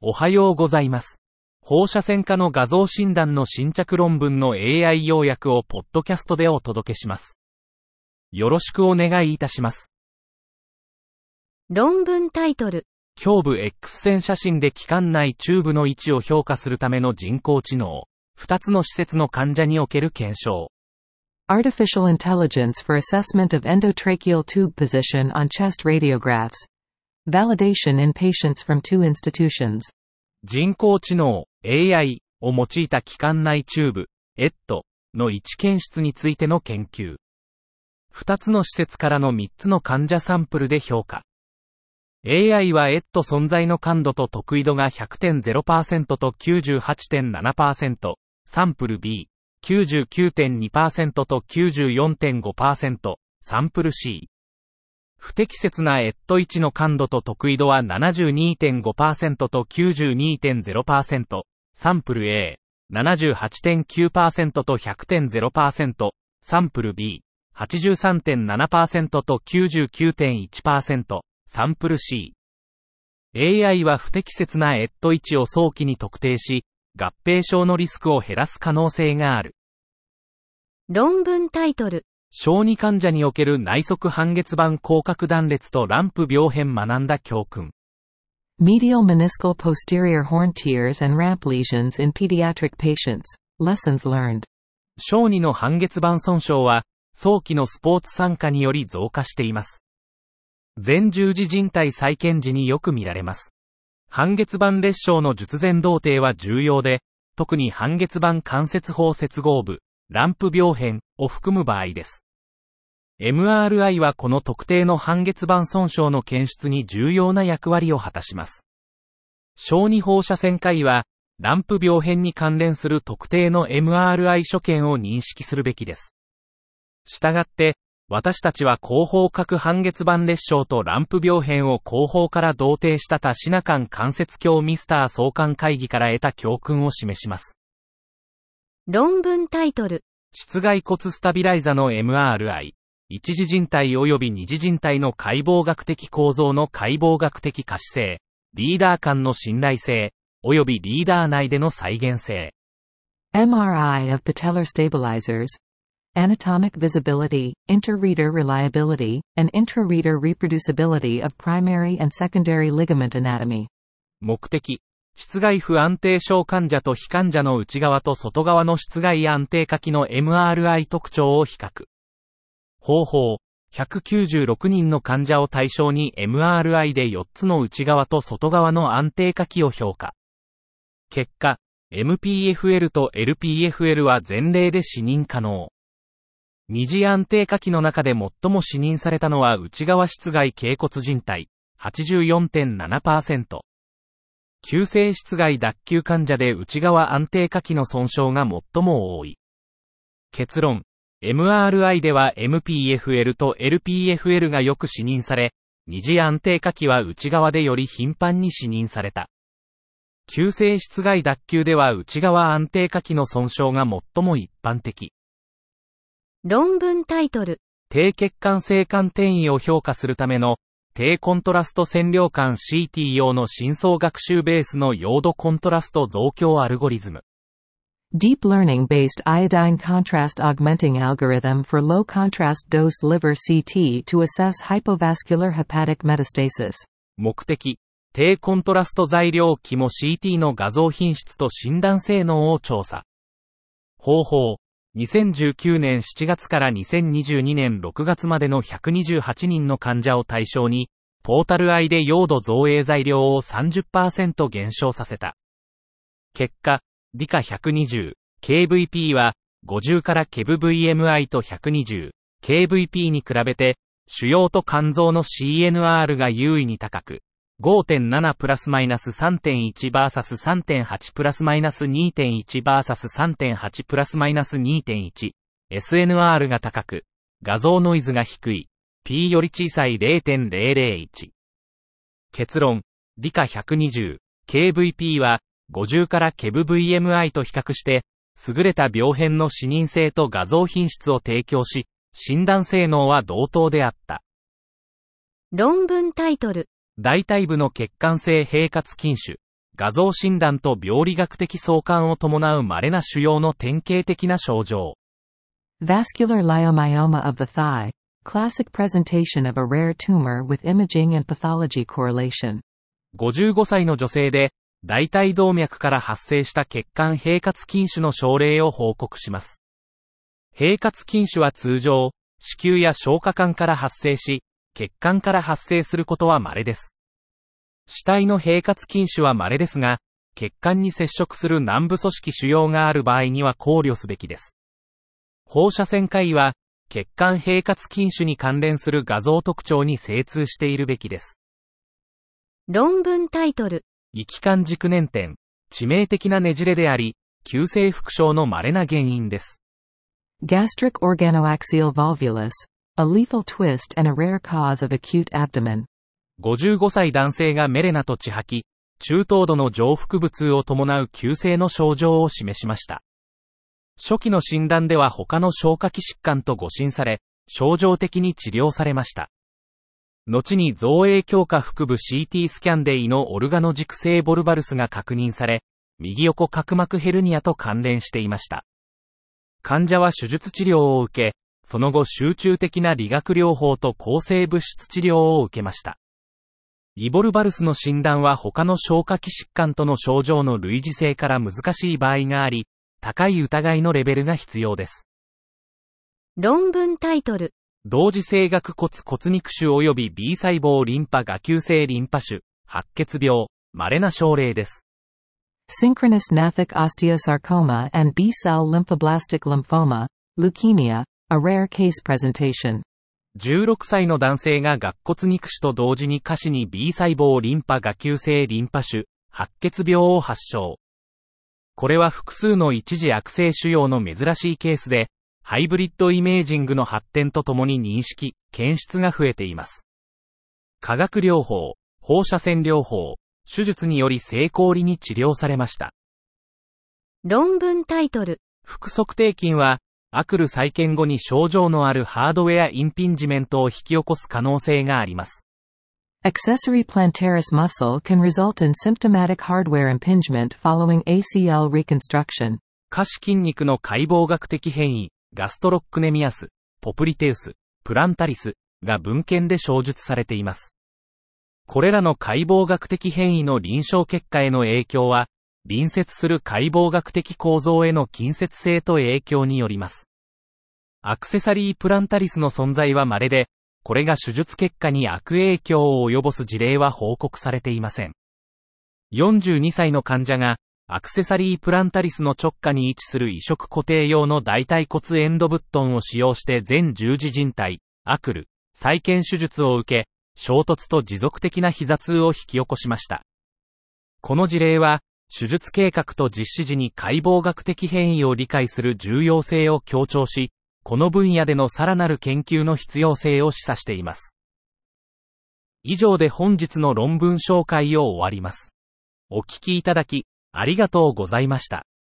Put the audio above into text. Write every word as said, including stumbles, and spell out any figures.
おはようございます。放射線科の画像診断の新着論文の エーアイ 要約をポッドキャストでお届けします。よろしくお願いいたします。 論文タイトル。 胸部 X 線写真で気管内チューブの位置を評価するための人工知能。ふたつの施設の患者における検証。 Artificial intelligence for assessment of endotracheal tube position on chest radiographs. Validation in patients from two institutions. 人工知能 エーアイ を用いた気管内チューブ エット の位置検出についての研究。ふたつの施設からのみっつの患者サンプルで評価。エーアイ は エット 存在の感度と得意度が ひゃくてんゼロパーセント と きゅうじゅうはちてんななパーセント、サンプル ビー、きゅうじゅうきゅうてんにパーセント と きゅうじゅうよんてんごパーセント、サンプル シー。不適切な エットワン の感度と得意度は ななじゅうにてんごパーセント と きゅうじゅうにてんゼロパーセント、サンプル エー、ななじゅうはちてんきゅうパーセント と ひゃくてんゼロパーセント、サンプル ビー、はちじゅうさんてんななパーセント と きゅうじゅうきゅうてんいちパーセント、サンプル シー。エーアイ は不適切な エットワン を早期に特定し、合併症のリスクを減らす可能性がある。 論文タイトル。 小児患者における内側半月板広角断裂とランプ病変学んだ教訓。 Medial meniscal posterior horn tears and ramp lesions in pediatric patients. Lessons learned. 小児の半月板損傷は、早期のスポーツ参加により増加しています。前十字靭帯再建時によく見られます。半月板裂傷の術前同定は重要で、特に半月板関節包接合部、ランプ病変を含む場合です。エムアールアイ はこの特定の半月板損傷の検出に重要な役割を果たします。小児放射線科医は、ランプ病変に関連する特定の エムアールアイ 所見を認識するべきです。したがって、私たちは後方角半月板裂傷とランプ病変を後方から同定した多シナ間関節鏡ミスター相関会議から得た教訓を示します。 論文タイトル。 室外骨スタビライザの エムアールアイ、一次靭帯及び二次靭帯の解剖学的構造の解剖学的可視性、リーダー間の信頼性、及びリーダー内での再現性。 エムアールアイ of patellar stabilizers. Anatomic visibility, inter-reader reliability, and intra-reader reproducibility of primary and secondary ligament anatomy. 目的。室外不安定症患者と非患者の内側と外側の室外安定下期の エムアールアイ 特徴を比較。方法。ひゃくきゅうじゅうろくにんの患者を対象に エムアールアイ でよっつの内側と外側の安定下期を評価。結果、エムピーエフエル と エルピーエフエル は前例で視認可能。二次安定下期の中で最も視認されたのは内側室外脛骨靭帯 はちじゅうよんてんななパーセント。急性室外脱臼患者で内側安定下期の損傷が最も多い。結論。エムアールアイ では エムピーエフエル と エルピーエフエル がよく視認され、二次安定下期は内側でより頻繁に視認された。急性室外脱臼では内側安定下期の損傷が最も一般的。 論文タイトル。 低血管性管転移を評価するための低コントラスト線量管 シーティー 用の深層学習ベースのヨードコントラスト増強アルゴリズム。 Deep learning-based iodine contrast augmenting algorithm for low contrast dose liver シーティー to assess hypovascular hepatic metastasis. 目的。低コントラスト材料肝 シーティー の画像品質と診断性能を調査。方法。にせんじゅうきゅうねんしちがつからにせんにじゅうにねんろくがつまでのひゃくにじゅうはちにんの患者を対象に、ポータル I でヨード造影材料を さんじゅっパーセント 減少させた。結果、ディカひゃくにじゅう、ケーブイピー はごじゅうからケブ ブイエムアイ とひゃくにじゅう、ケーブイピー に比べて、腫瘍と肝臓の シーエヌアール が優位に高く、ごてんなな プラスマイナス さんてんいち バーサス さんてんはち プラスマイナス にてんいち バーサス さんてんはち プラスマイナス にてんいち、エスエヌアール が高く、画像ノイズが低い、P より小さい ゼロてんゼロゼロいち。結論、ディカひゃくにじゅう、ケーブイピー はごじゅうからケブ ブイエムアイ と比較して、優れた病変の視認性と画像品質を提供し、診断性能は同等であった。 論文タイトル。 大腿部の血管性平滑筋腫、 画像診断と病理学的相関を伴う稀な腫瘍の典型的な症状。 Vascular leiomyoma of the thigh. Classic presentation of a rare tumor with imaging and pathology correlation. ごじゅうごさいの女性で、大腿動脈から発生した血管閉活筋腫の症例を報告します。閉活筋腫は通常、子宮や消化管から発生し、血管から発生することは稀です。死体の閉活筋腫は稀ですが、血管に接触する軟部組織腫瘍がある場合には考慮すべきです。放射線科医は、血管閉活筋腫に関連する画像特徴に精通しているべきです。 論文タイトル。 域間軸捻転、致命的なねじれであり、急性腹症の稀な原因です。 Gastric organoaxial volvulus. A lethal twist and a rare cause of acute abdomen. ごじゅうごさい男性がメレナと血吐き、中等度の上腹部痛を伴う急性の症状を示しました。初期の診断では他の消化器疾患と誤診され、症状的に治療されました。後に造影強化腹部 シーティー スキャンで胃のオルガノ軸性ボルバルスが確認され、右横隔膜ヘルニアと関連していました。患者は手術治療を受け、その後集中的な理学療法と抗生物質治療を受けました。イボルバルスの診断は他の消化器疾患との症状の類似性から難しい場合があり、高い疑いのレベルが必要です。 論文タイトル。 同時性顎骨骨肉腫及び B 細胞リンパ芽球性リンパ腫、白血病、稀な症例です。 Synchronous gnathic osteosarcoma and B-cell lymphoblastic lymphoma, leukemia, a rare case presentation. じゅうろくさいの男性が顎骨肉腫と同時に下肢に B 細胞リンパ芽球性リンパ腫、白血病を発症。これは複数の一次悪性腫瘍の珍しいケースで、ハイブリッドイメージングの発展とともに認識、検出が増えています。化学療法、放射線療法、手術により成功裏に治療されました。 論文タイトル。 腹側底筋は、アクル再建後に症状のあるハードウェアインピンジメントを引き起こす可能性があります。 Accessory plantaris muscle can result in symptomatic hardware impingement following エーシーエル reconstruction. 下肢筋肉の解剖学的変異、ガストロックネミアス、ポプリテウス、プランタリスが文献で詳述されています。これらの解剖学的変異の臨床結果への影響は、隣接する解剖学的構造への近接性と影響によります。アクセサリープランタリスの存在は稀で、これが手術結果に悪影響を及ぼす事例は報告されていません。よんじゅうにさいの患者が、アクセサリープランタリスの直下に位置する移植固定用の大腿骨エンドブットンを使用して全十字靭帯、アクル、再建手術を受け、衝突と持続的な膝痛を引き起こしました。この事例は、手術計画と実施時に解剖学的変異を理解する重要性を強調し、この分野でのさらなる研究の必要性を示唆しています。以上で本日の論文紹介を終わります。お聞きいただき、ありがとうございました。